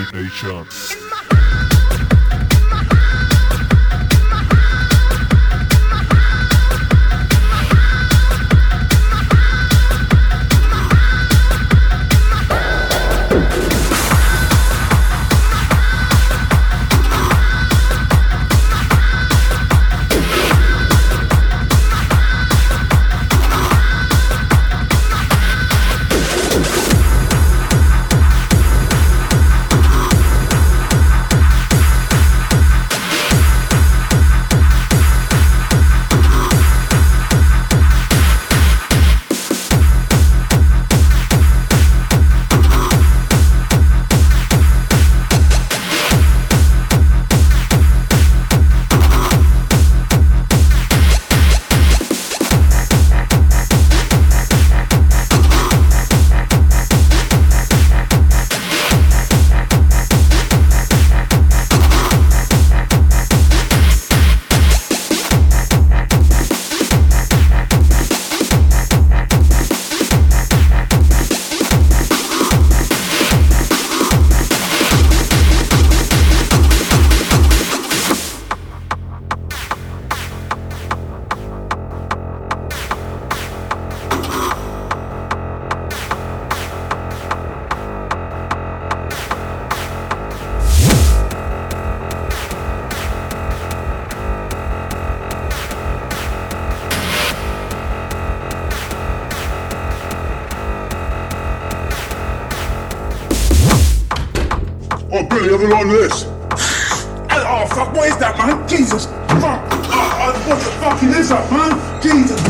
Oh, Billy, have a lot of this. Oh, fuck, what is that, man? Jesus, fuck. What the fucking is that, man? Jesus,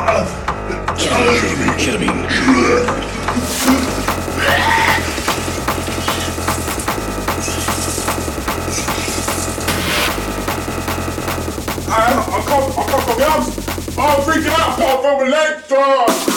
Ketamine. I can't from the arms. I'm freaking out, I from my legs.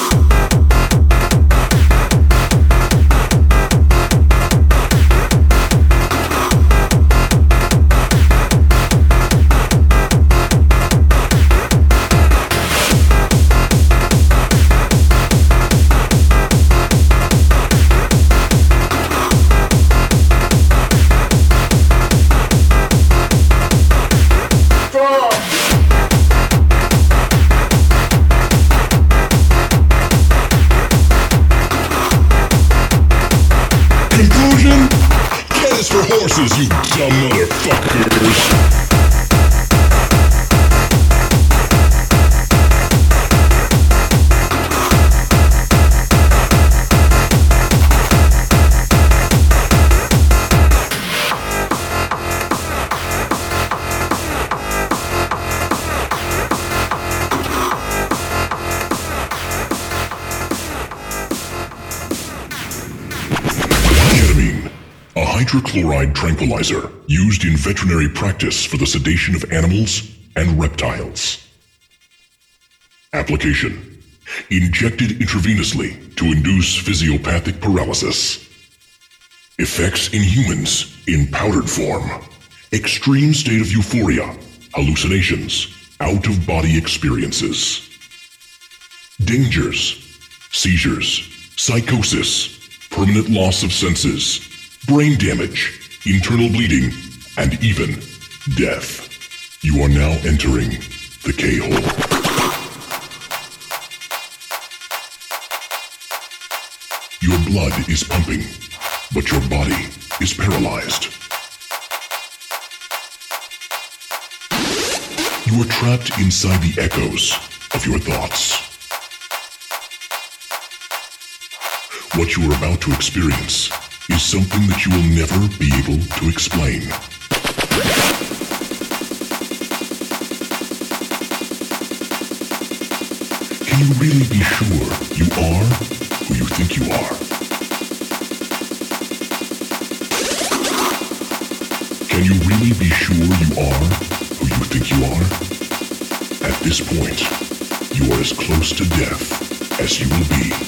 For horses, you dumb motherfuckers. Hydrochloride tranquilizer used in veterinary practice for the sedation of animals and reptiles. Application: injected intravenously to induce physiopathic paralysis. Effects in humans in powdered form. Extreme state of euphoria, hallucinations, out-of-body experiences. Dangers: seizures, psychosis, permanent loss of senses, brain damage, internal bleeding, and even death. You are now entering the K-hole. Your blood is pumping, but your body is paralyzed. You are trapped inside the echoes of your thoughts. What you are about to experience is something that you will never be able to explain. Can you really be sure you are who you think you are? Can you really be sure you are who you think you are? At this point, you are as close to death as you will be.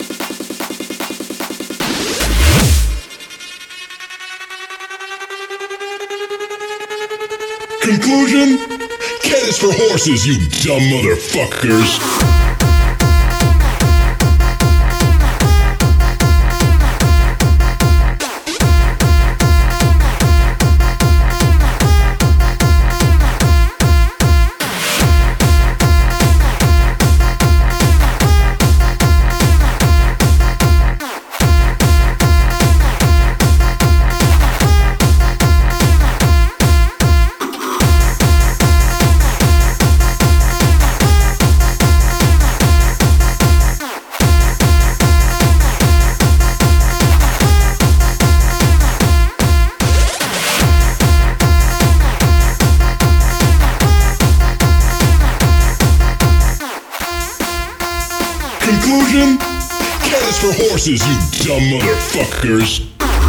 Conclusion? Cat is for horses, you dumb motherfuckers. K is for horses, you dumb motherfuckers.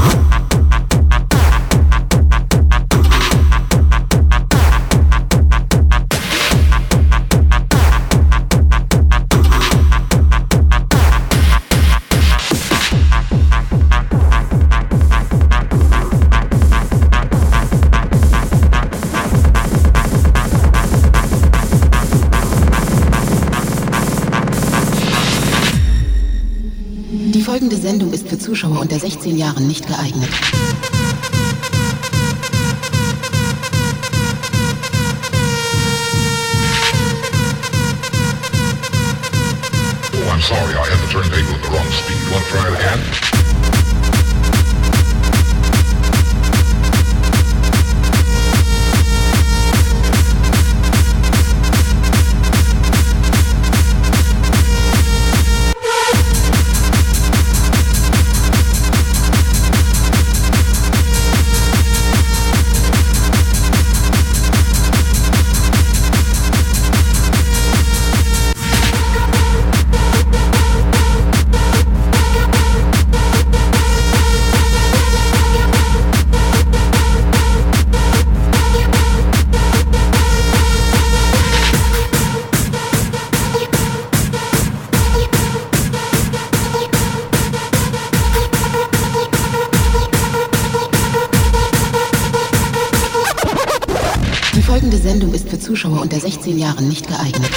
Die folgende Sendung ist für Zuschauer unter 16 Jahren nicht geeignet. Oh, I'm sorry, I had the turntable at the wrong speed. You want to try it again? Die folgende Sendung ist für Zuschauer unter 16 Jahren nicht geeignet.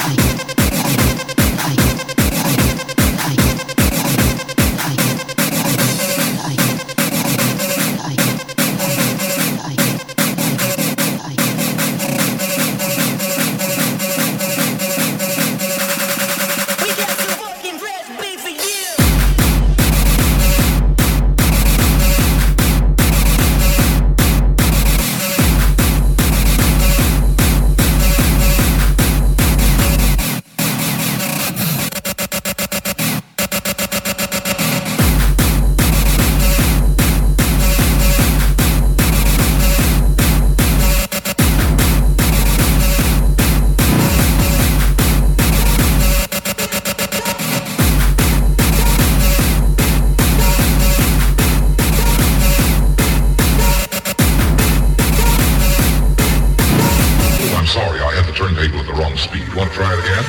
turntable at the wrong speed. You want to try it again?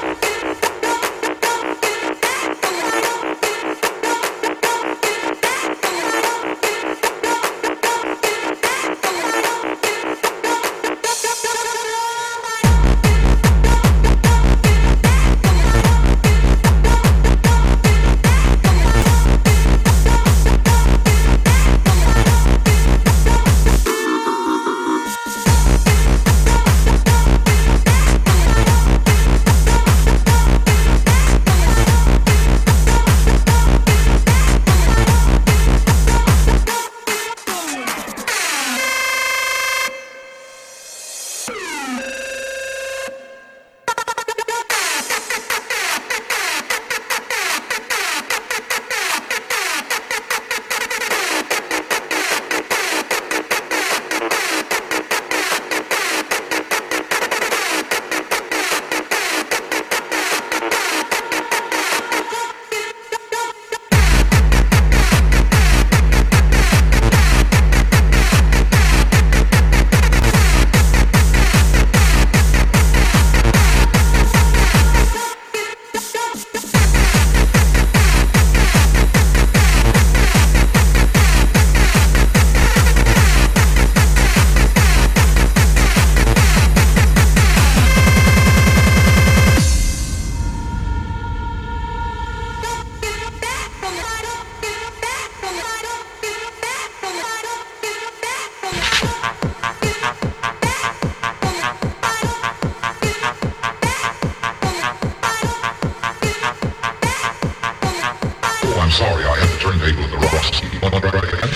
I'm sorry, I had the turntable at the wrong speed. You want to try it again?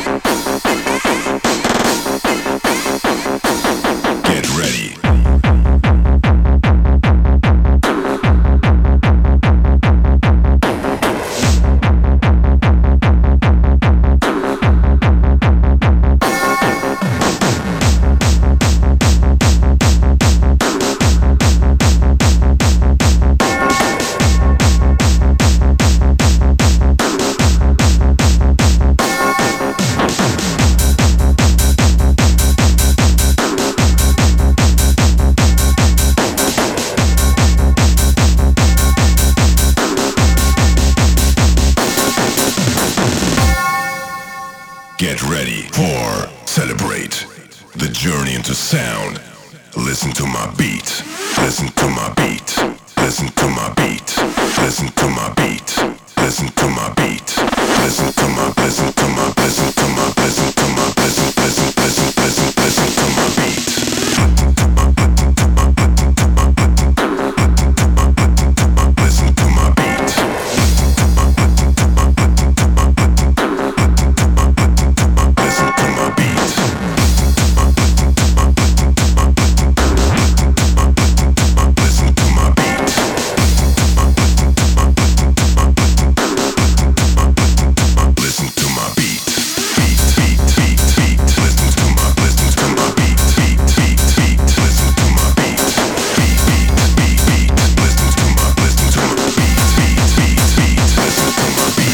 Get ready. Listen to my beat. Listen to my beat. Listen to my beat. Listen to my beat. Listen to my listen to my listen to my listen to my listen listen listen listen listen to my beat. Listen to my beat. Listen to my beat. Listen to my beat. Listen to my beat. Beat, beat, beat, beat. Listen to my beat. Beat, beat, beat. Listen to my beat. Beat, beat, beat, beat. Listen to my beat. Beat, beat, beat, beat. Listen to my beat.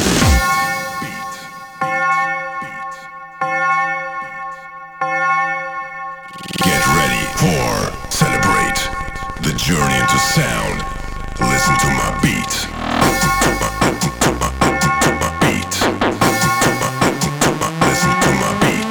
Get ready for celebrate the journey into sound. Listen to my beat. Listen to my beat. Listen to my beat.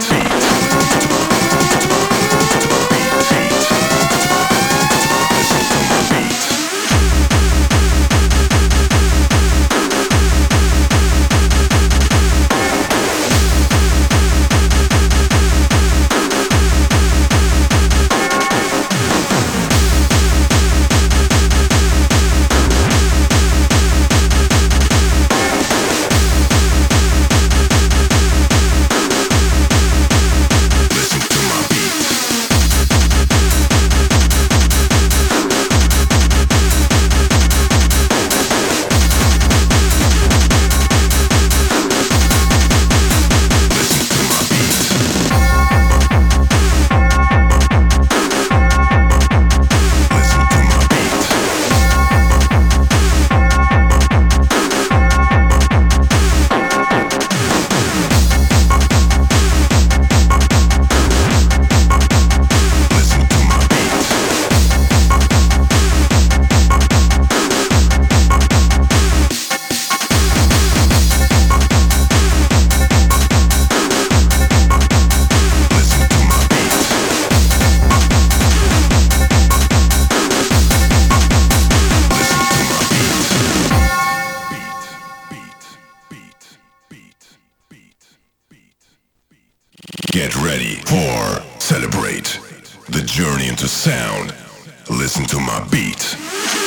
Get ready for celebrate the journey into sound. Listen to my beat.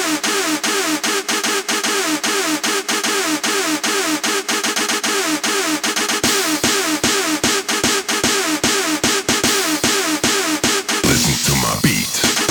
Listen to my beat.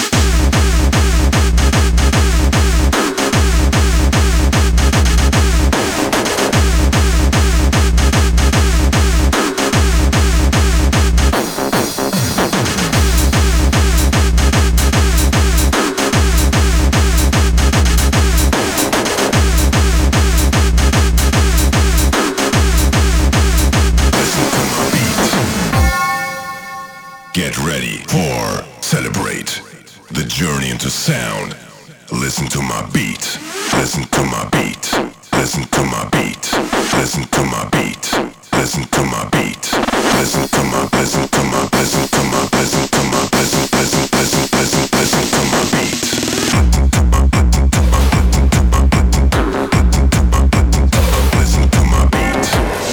Get ready for celebrate the journey into sound. Listen to my beat. Listen to my beat. Listen to my beat. Listen to my beat. Listen to my beat. Listen to my listen to my listen to my listen to my listen listen listen listen listen to my beat. Listen to my beat.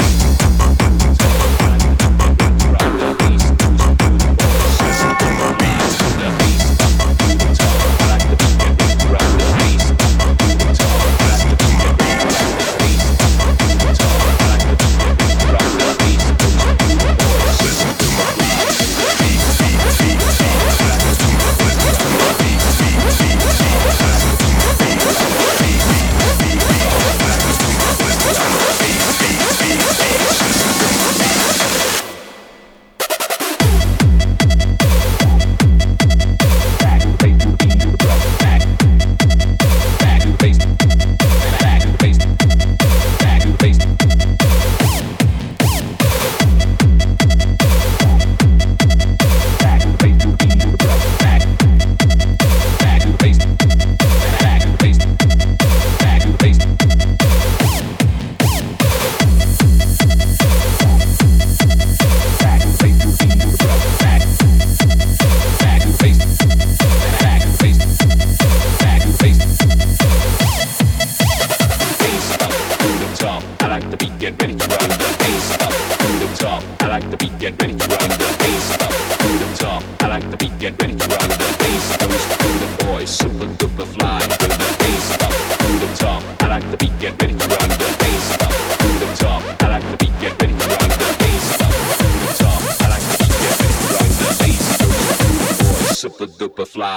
Listen to my beat. Listen to my beat.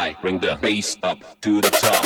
high, bring the bass up to the top.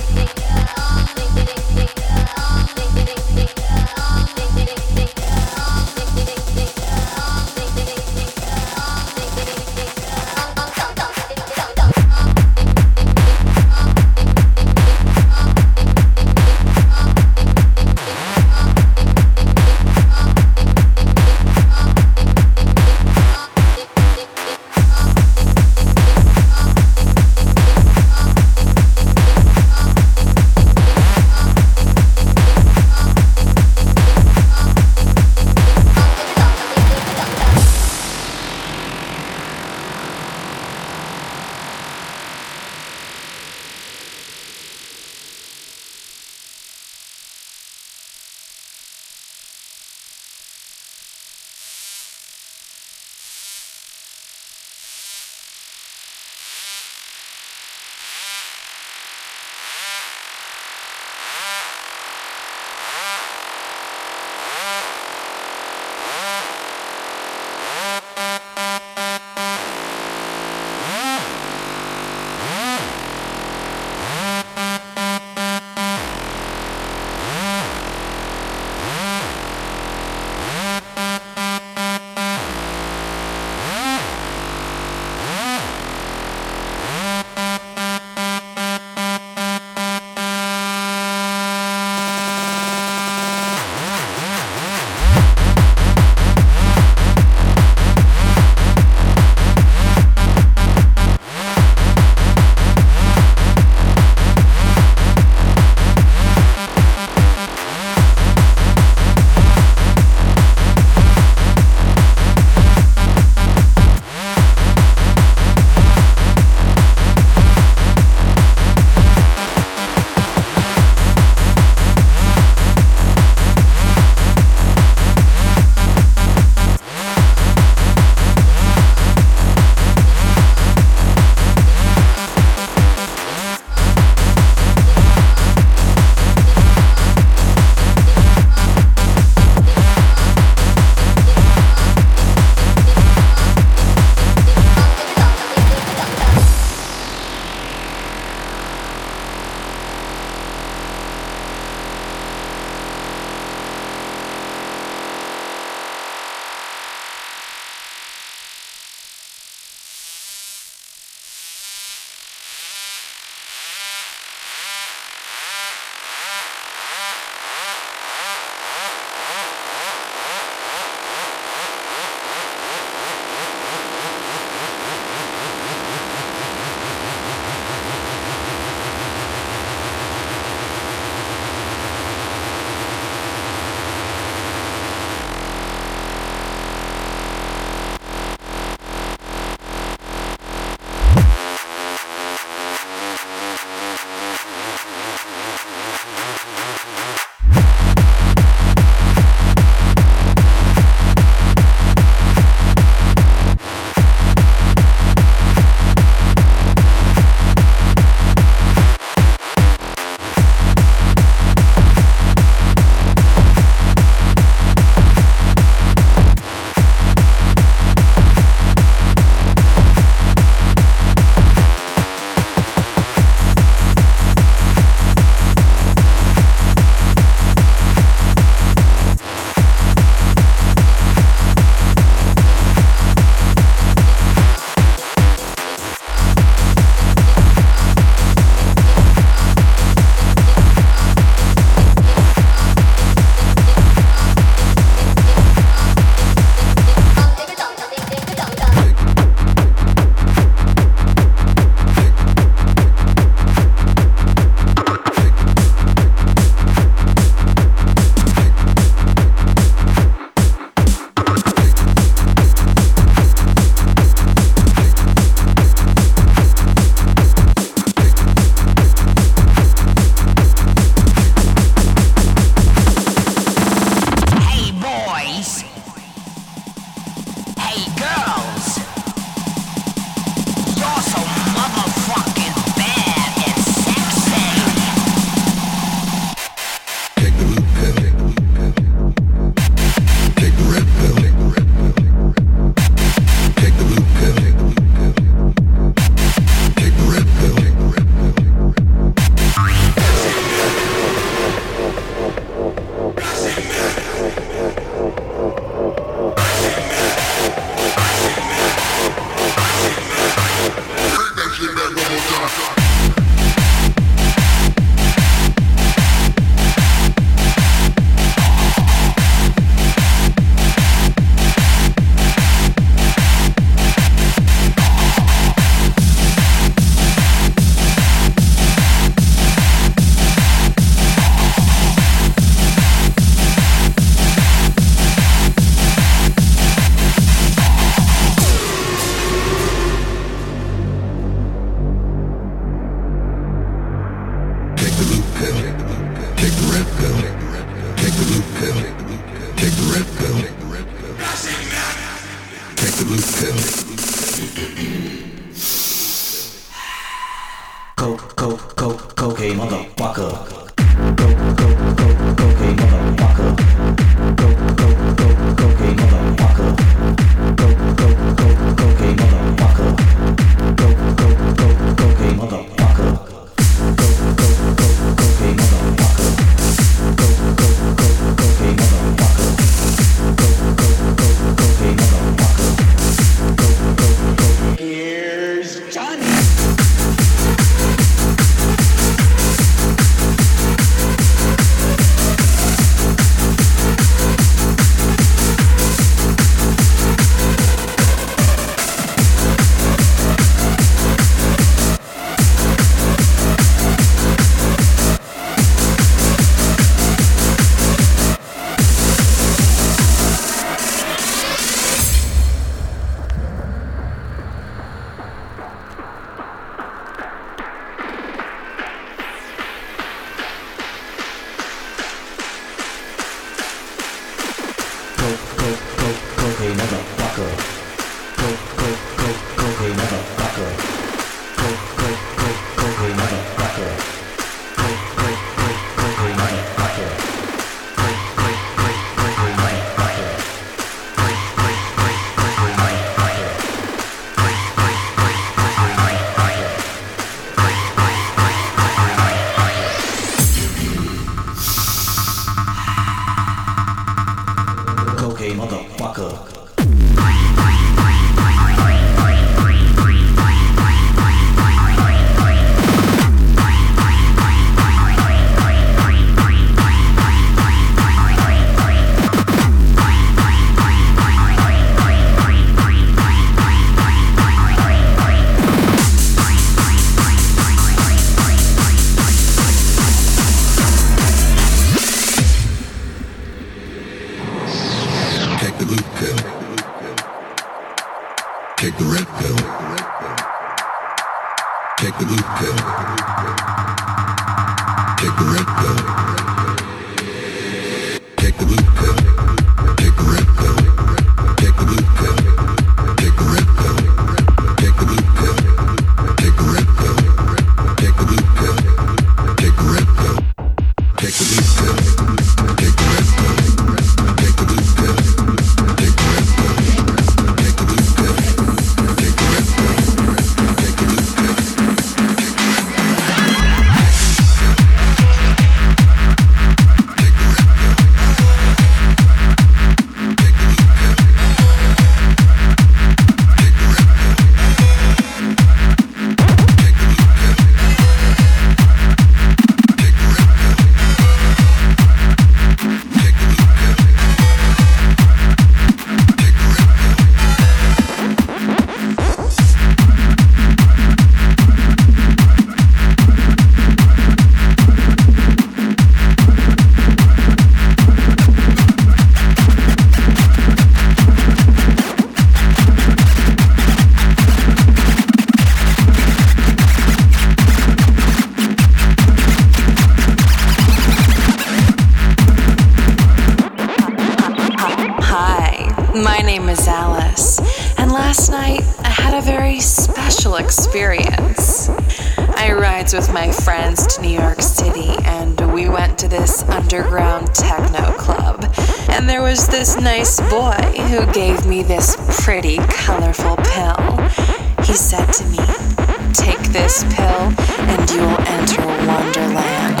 Experience. I rides with my friends to New York City and we went to this underground techno club. And there was this nice boy who gave me this pretty colorful pill. He said to me, "Take this pill and you will enter Wonderland."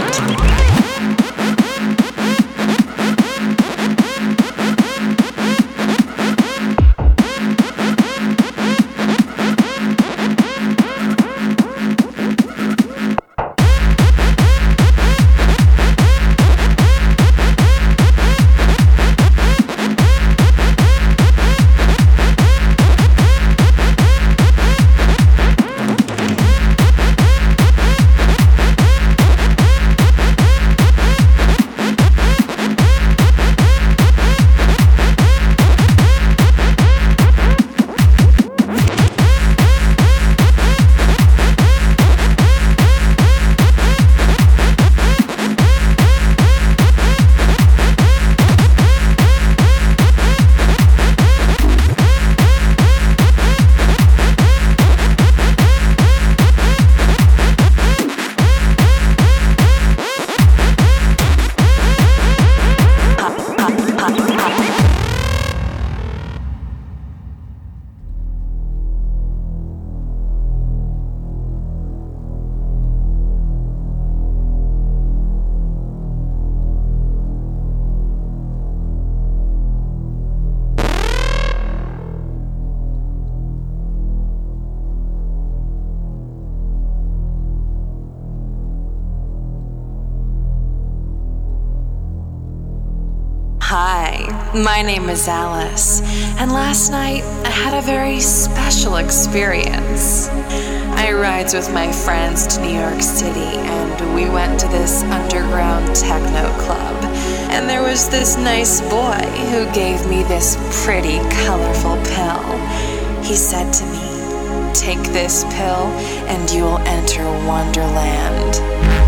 My name is Alice, and last night I had a very special experience. I rides with my friends to New York City, and we went to this underground techno club. And there was this nice boy who gave me this pretty, colorful pill. He said to me, "Take this pill, and you will enter Wonderland."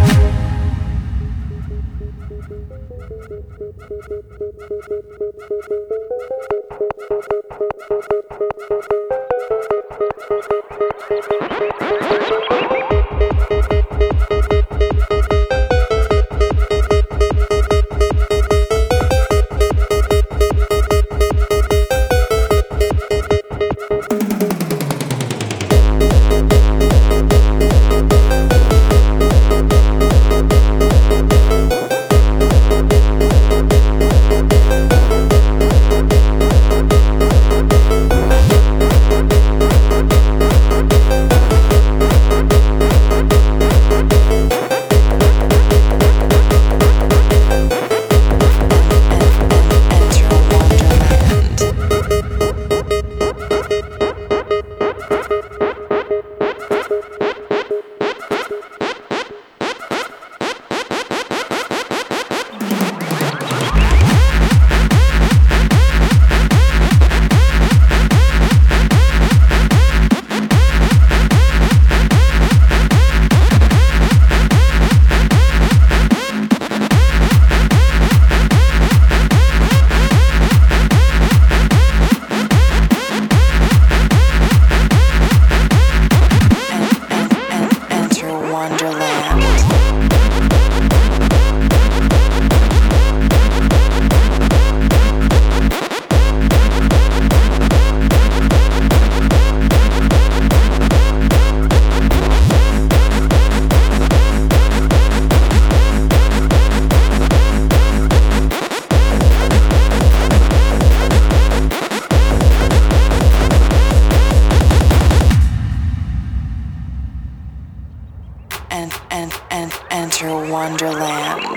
And enter Wonderland.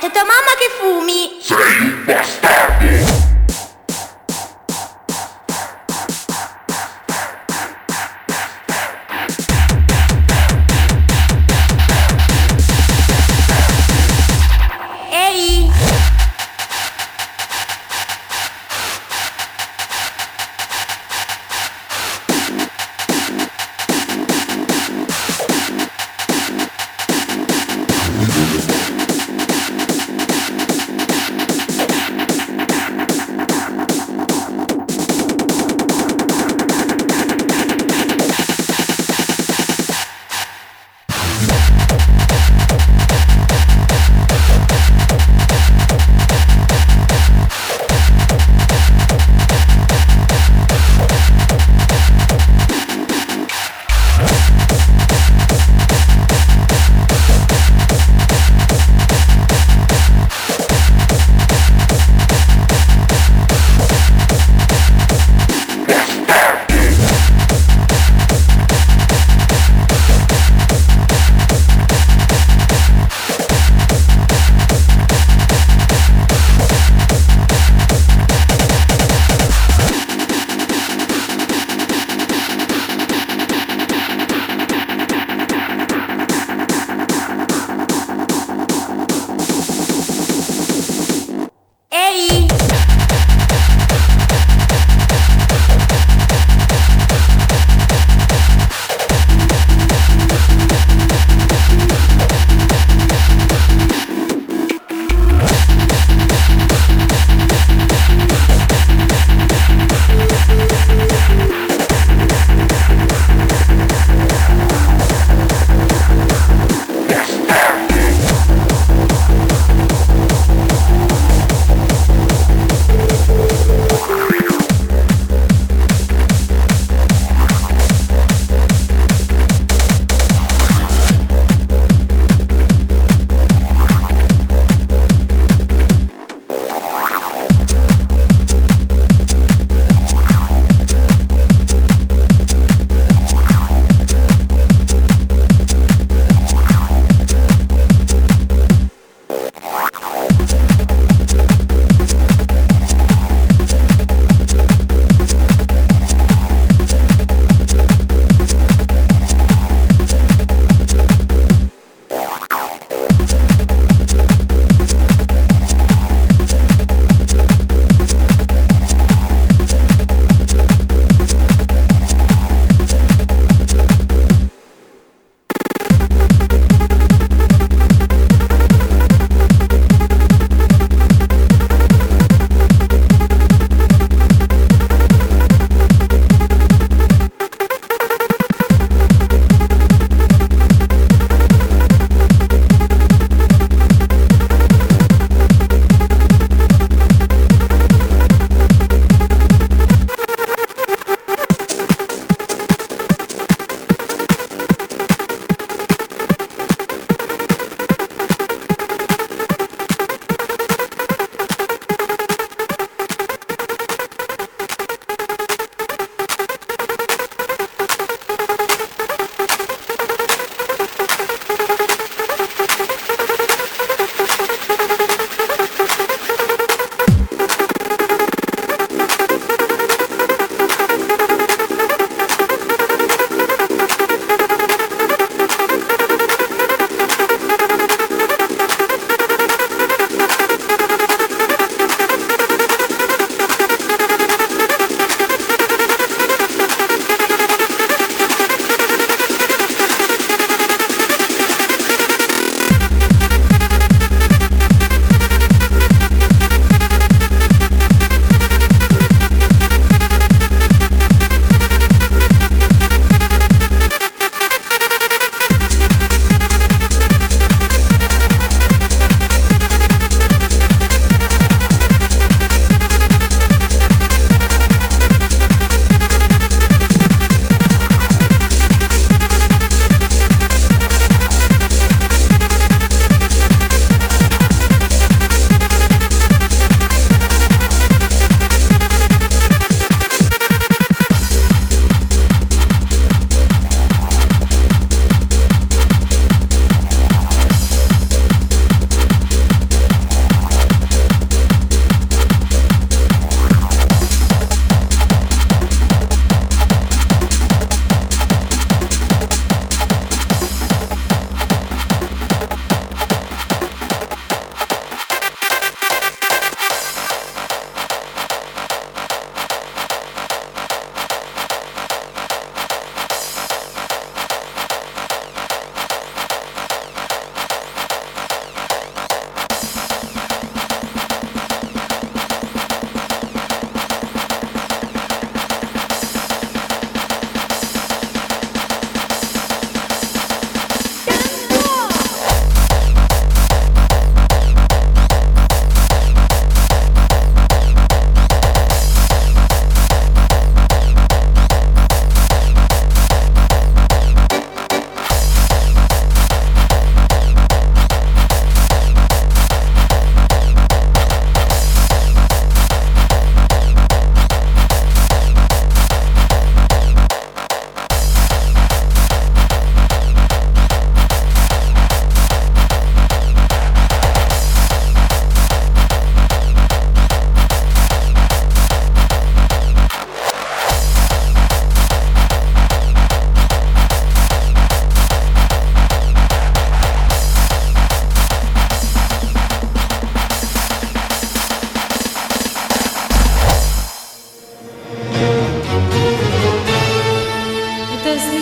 sei tua mamma che fumi. Sei bastardo! Ehi!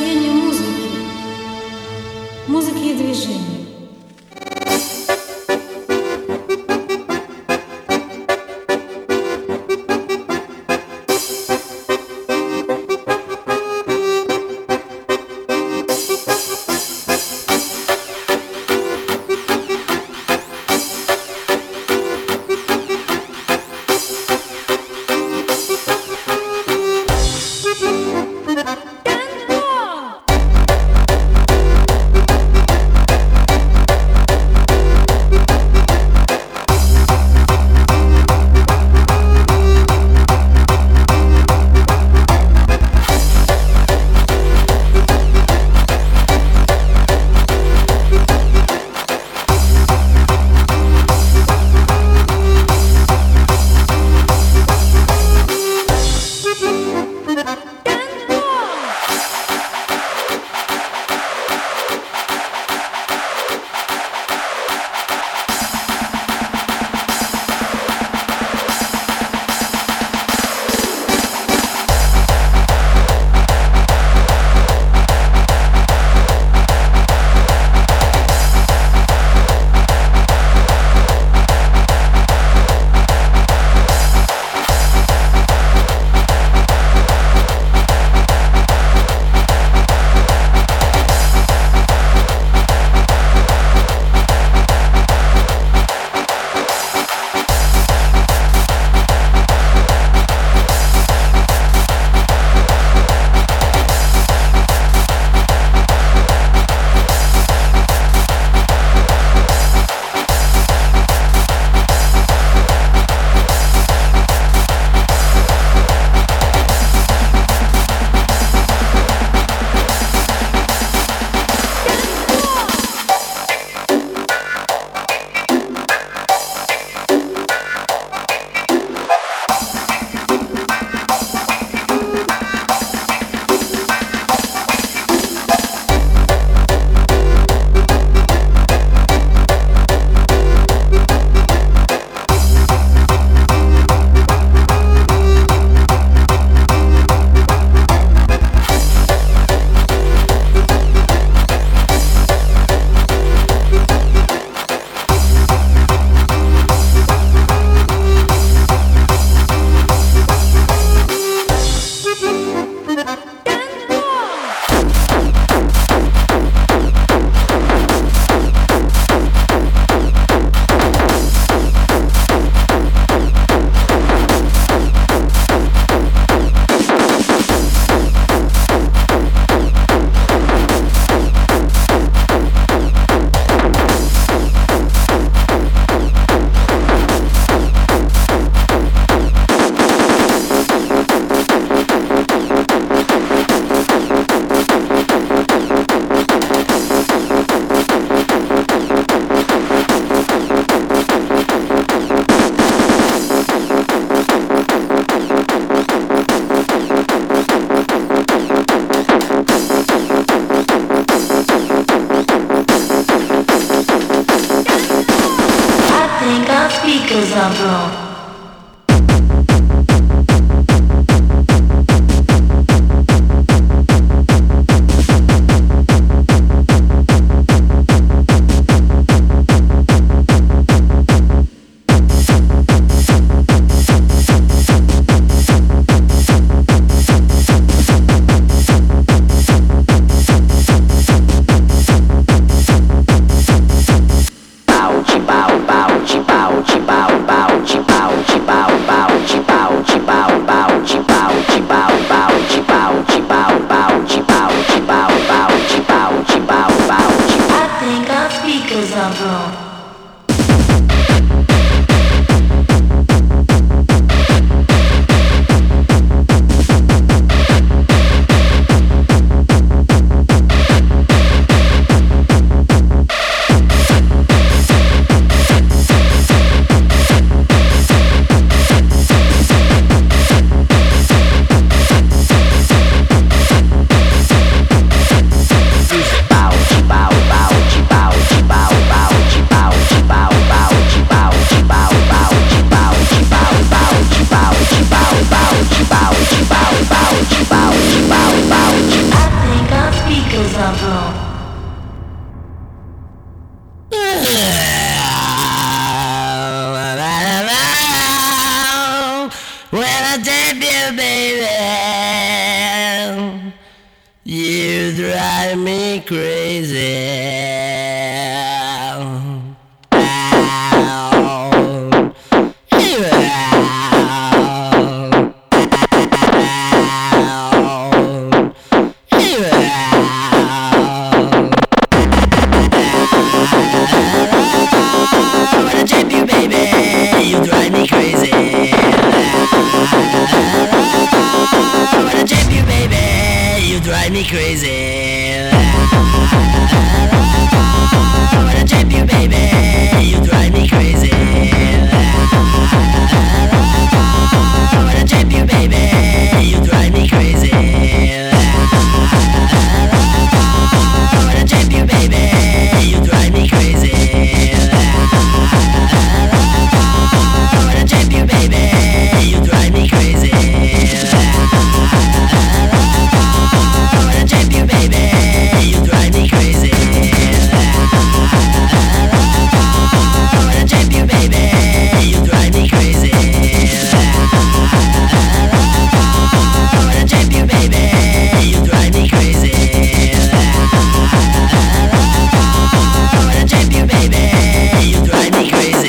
настроение музыки. Музыки и движения. speakers are broke. Bow, chi bow, bow, chi bow, chi bow, bow, chi bow. up, bro. When I tape you, baby, you drive me crazy. Drive me crazy. I wanna trip you, baby. You drive me crazy. I wanna trip you, baby. You drive me crazy. I wanna trip you, baby. You drive me crazy. I wanna trip you, baby. You drive me crazy. Trip you, baby, you drive me crazy. I wanna trip you, baby, you drive me crazy. I wanna trip you, baby, you drive me crazy. I wanna trip you, baby, you drive me crazy.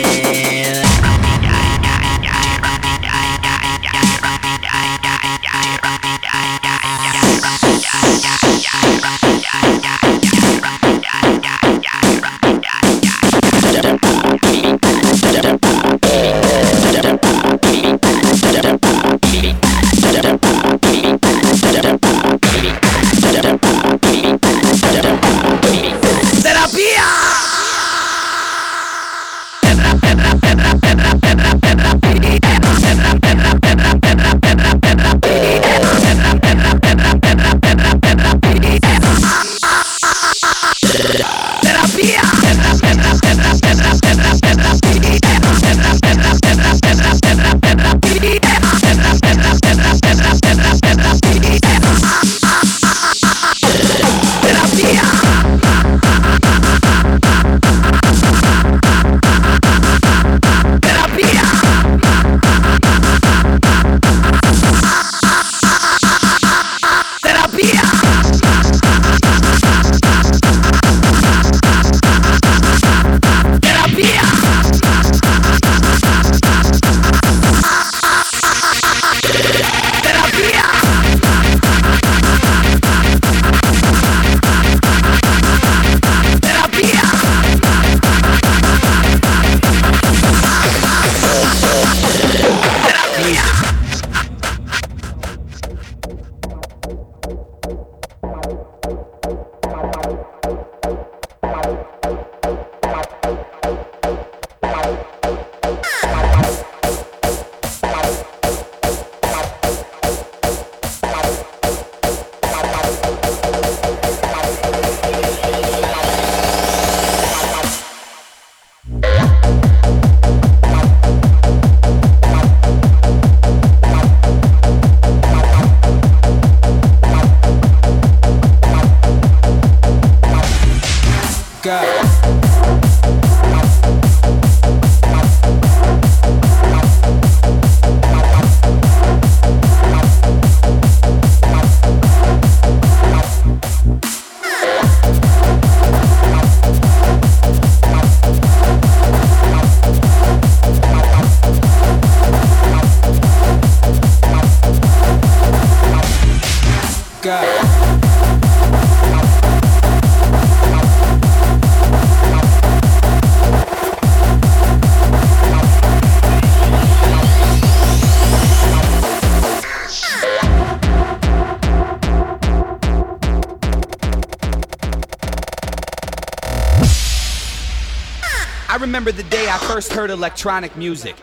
I remember the day I first heard electronic music.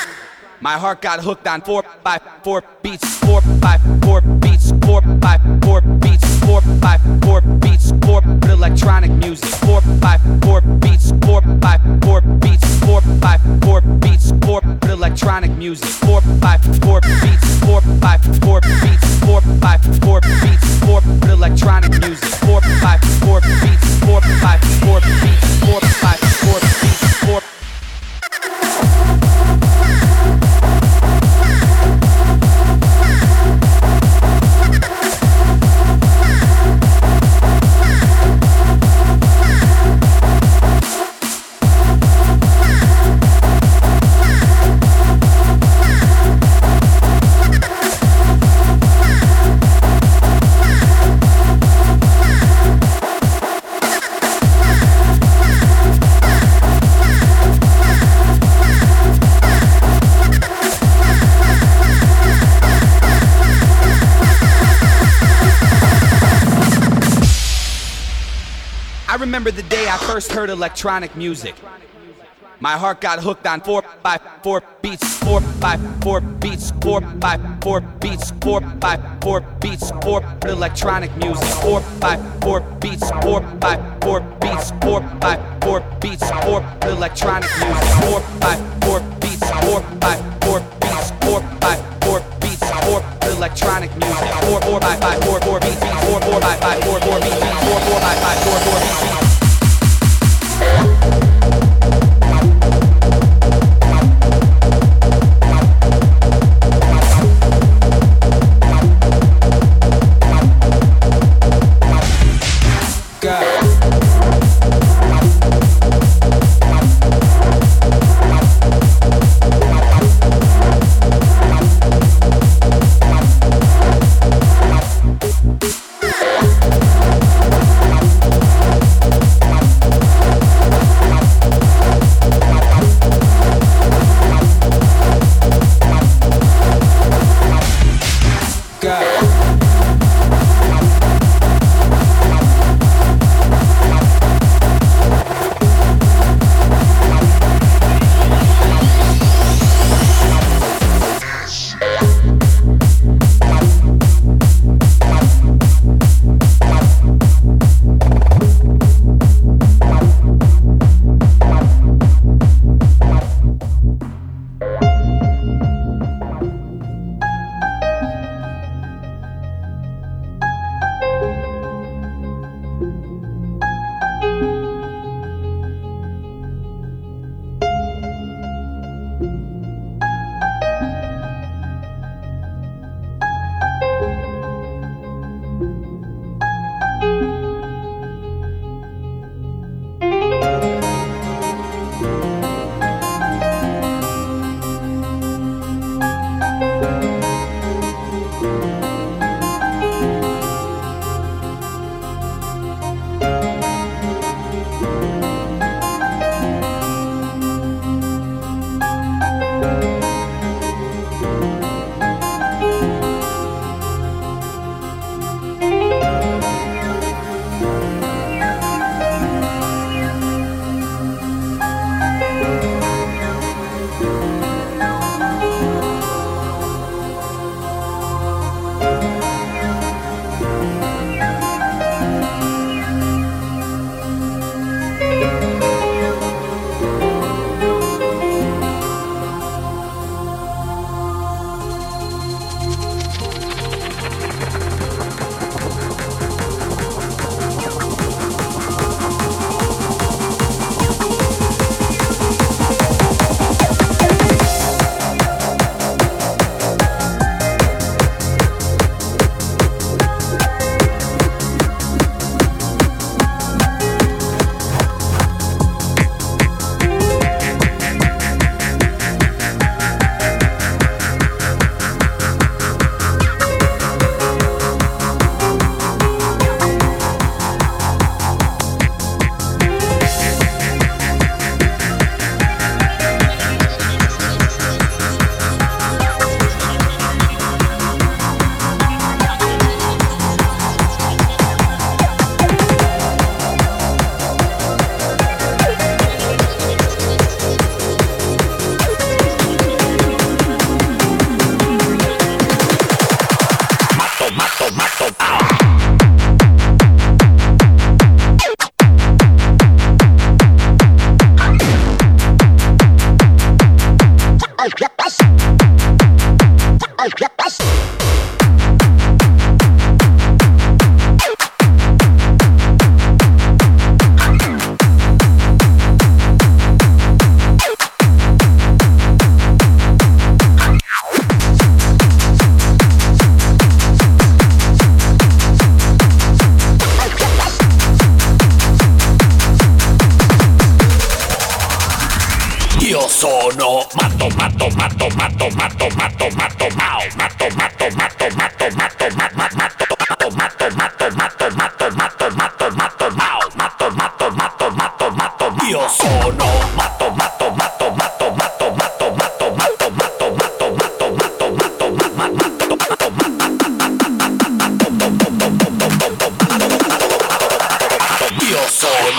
My heart got hooked on 4x4 beats, 4x4 beats, 4x4 beats, 4x4 beats, 4 electronic music, 4x4 beats, 4x4 beats, 4x4 beats, 4 electronic music, 4x4 beats, 4x4 beats, 4x4 beats, 4 electronic music, 4x4 I remember the day I first heard electronic music. My heart got hooked on 4x4 beats, 4x4 beats, 4x4 beats, 4x4 beats, 4 electronic music, 4x4 beats, 4x4 beats, 4x4 beats, 4 electronic music, 4x4 beats, 4x4 beats, 4x4 beats, 4 electronic music, 4x4 beats, 4x4 beats, 4x4 beats. Sono matto, matto, matto, matto, matto, matto, matto, mao, matto, matto, matto, matto, matto, matto, matto, matto, matto, matto, matto, matto, matto, matto, matto, mao, matto, matto, matto, matto, matto, io sono matto, matto, matto, matto, matto, matto, matto, matto, matto, matto, matto, matto, matto, matto, matto, io sono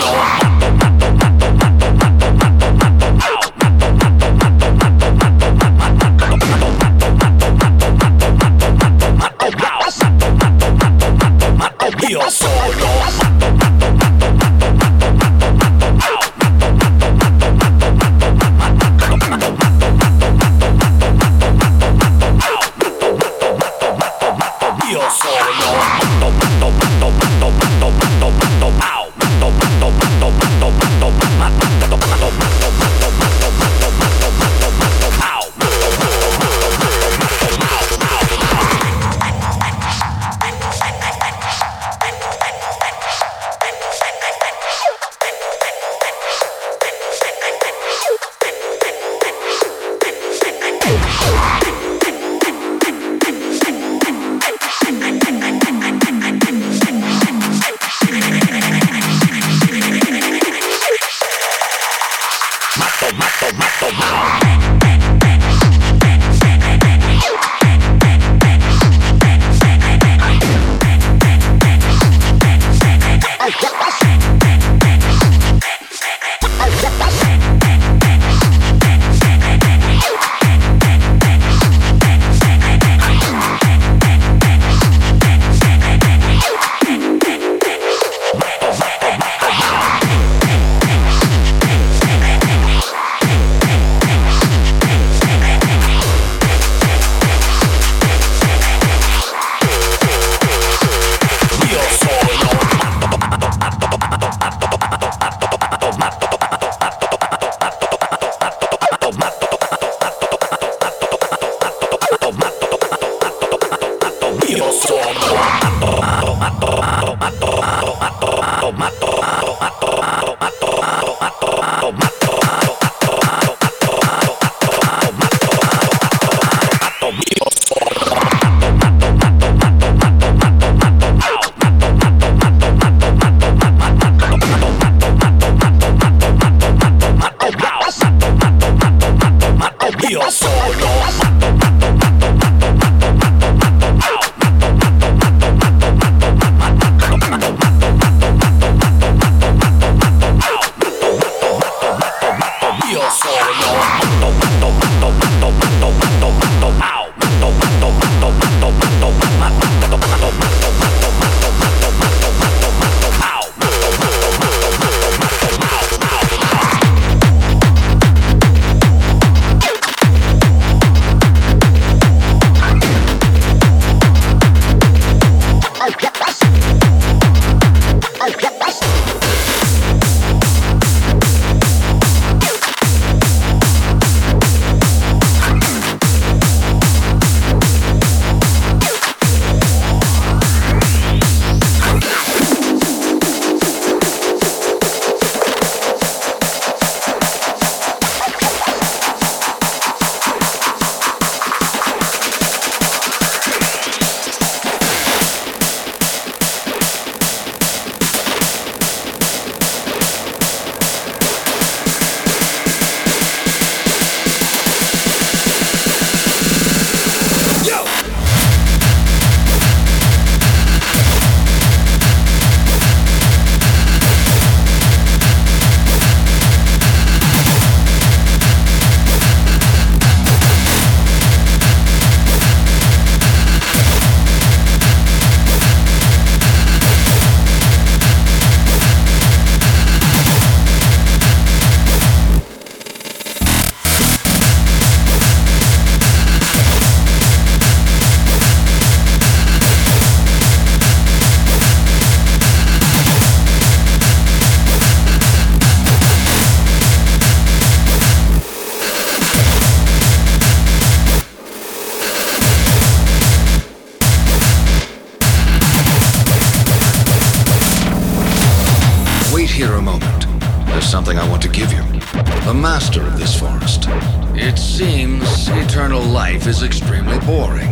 here a moment. There's something I want to give you. The master of this forest. It seems eternal life is extremely boring.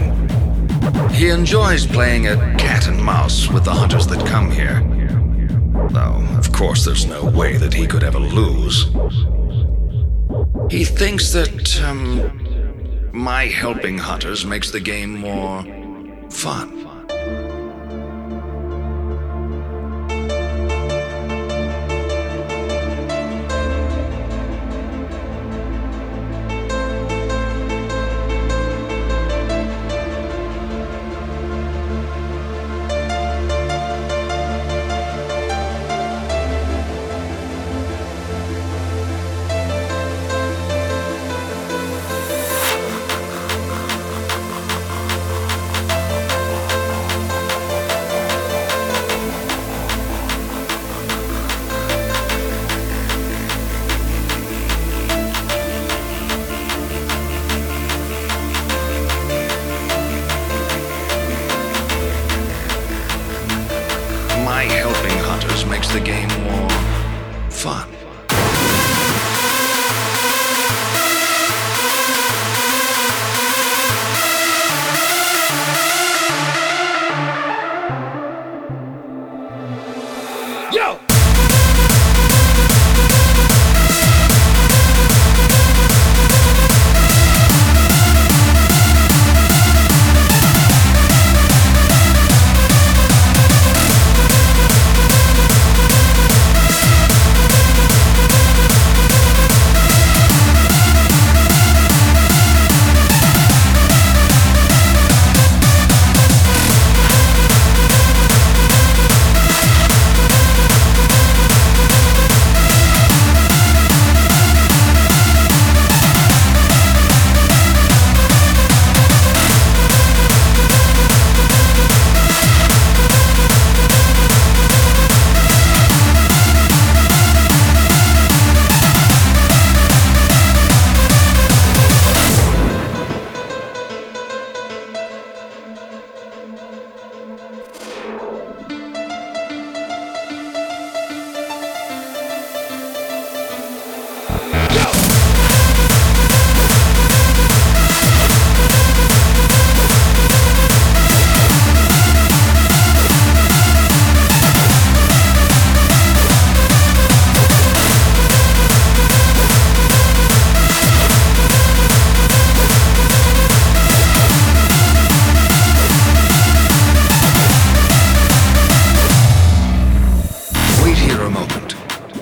He enjoys playing at cat and mouse with the hunters that come here. Though, of course, there's no way that he could ever lose. He thinks that, my helping hunters makes the game more fun. Makes the game more fun. Yo!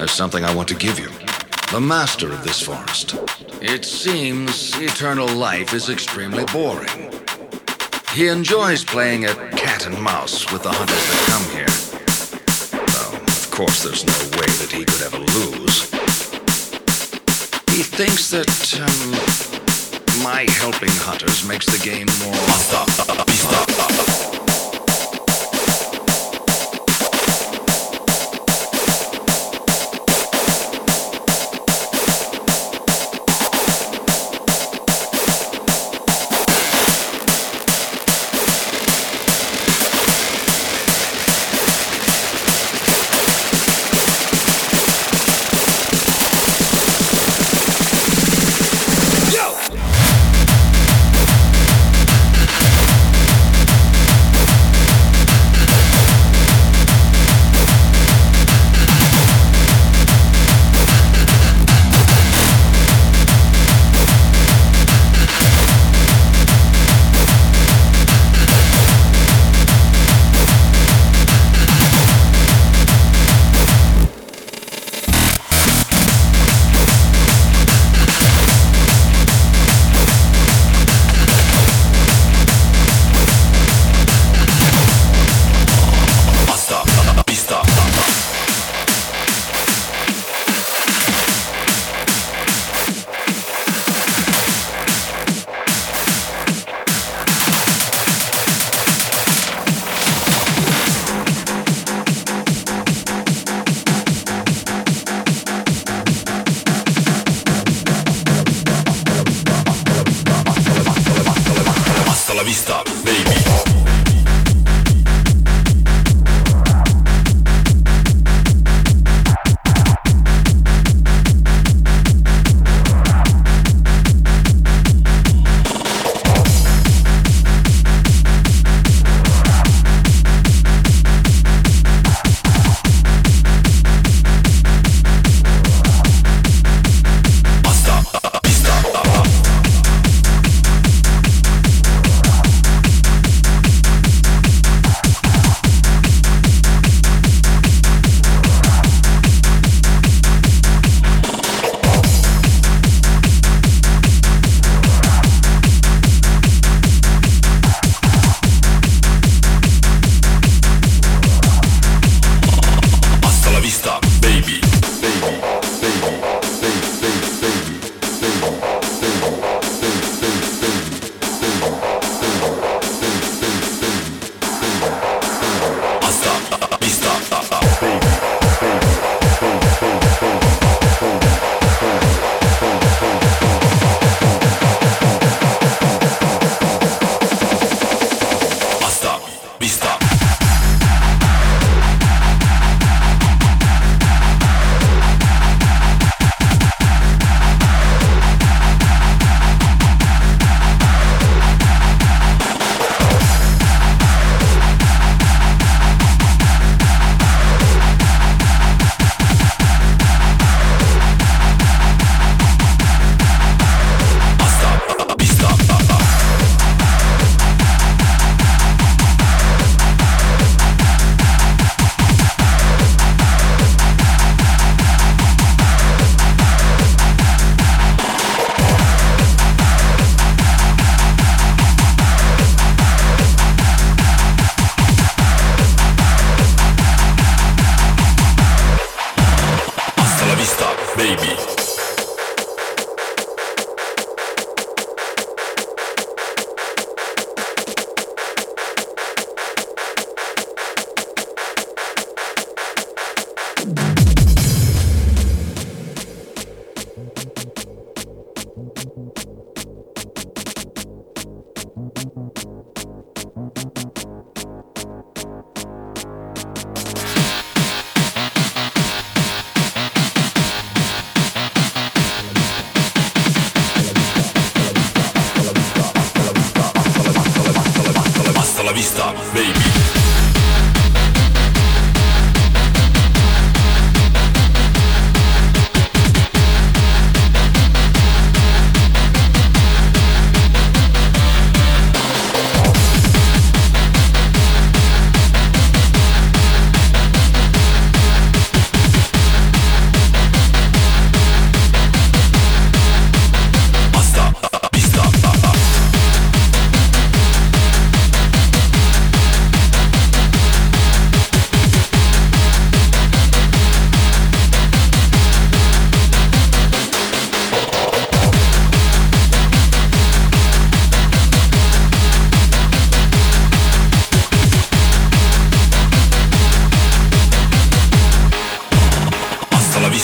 There's something I want to give you. The master of this forest. It seems eternal life is extremely boring. He enjoys playing at cat and mouse with the hunters that come here. Though, of course, there's no way that he could ever lose. He thinks that, my helping hunters makes the game more fun.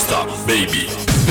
Basta, baby.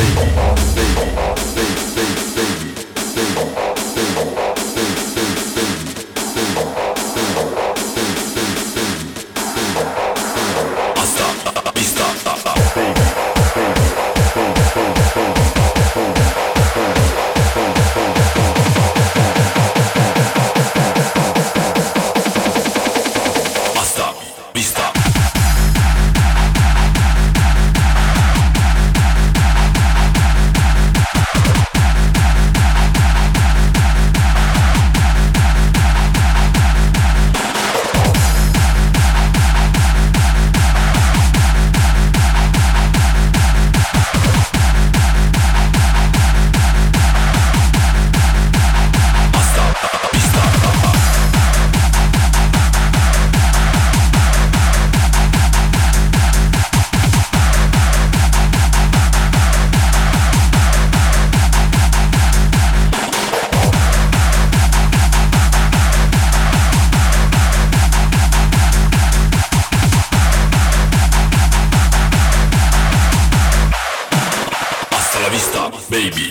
Baby.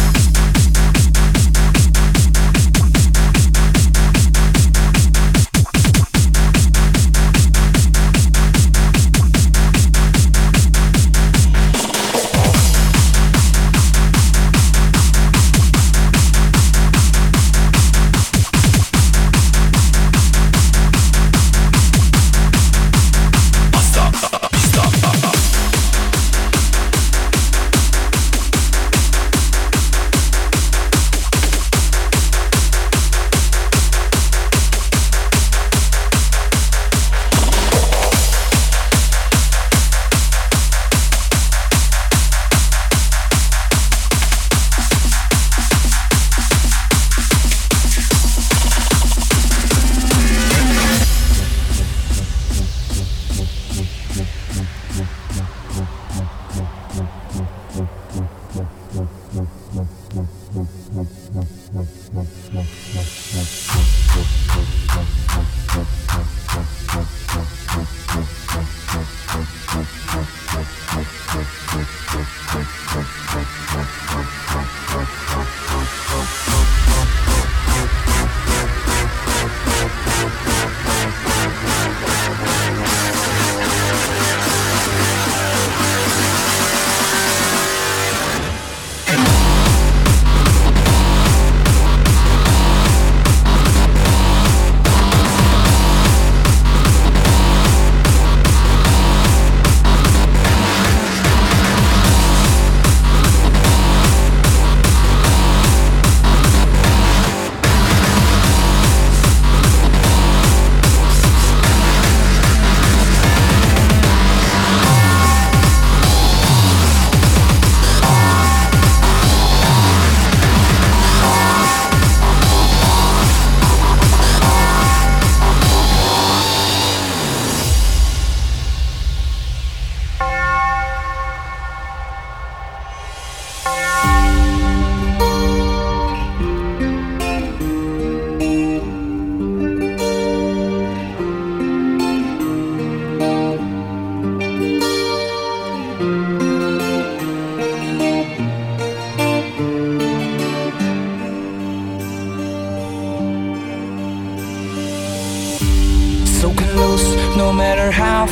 No matter how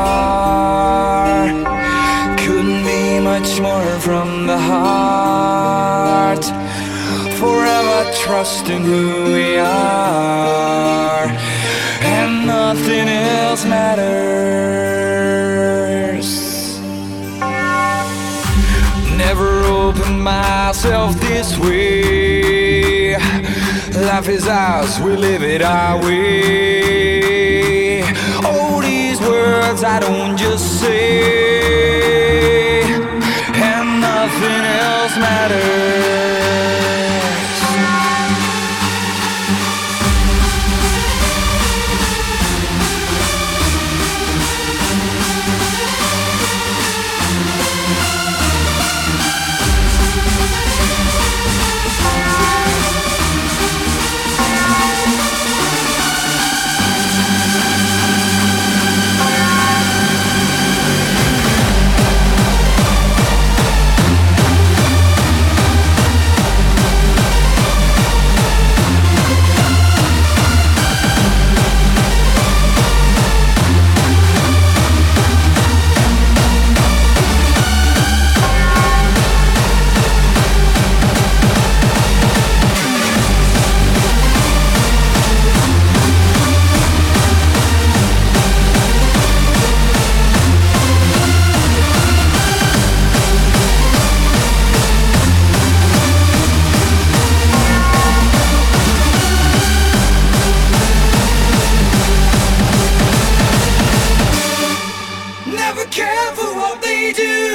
far, couldn't be much more from the heart. Forever trusting who we are, and nothing else matters. Never opened myself this way. Life is ours, we live it our way. All these words I don't just say, and nothing else matters. do.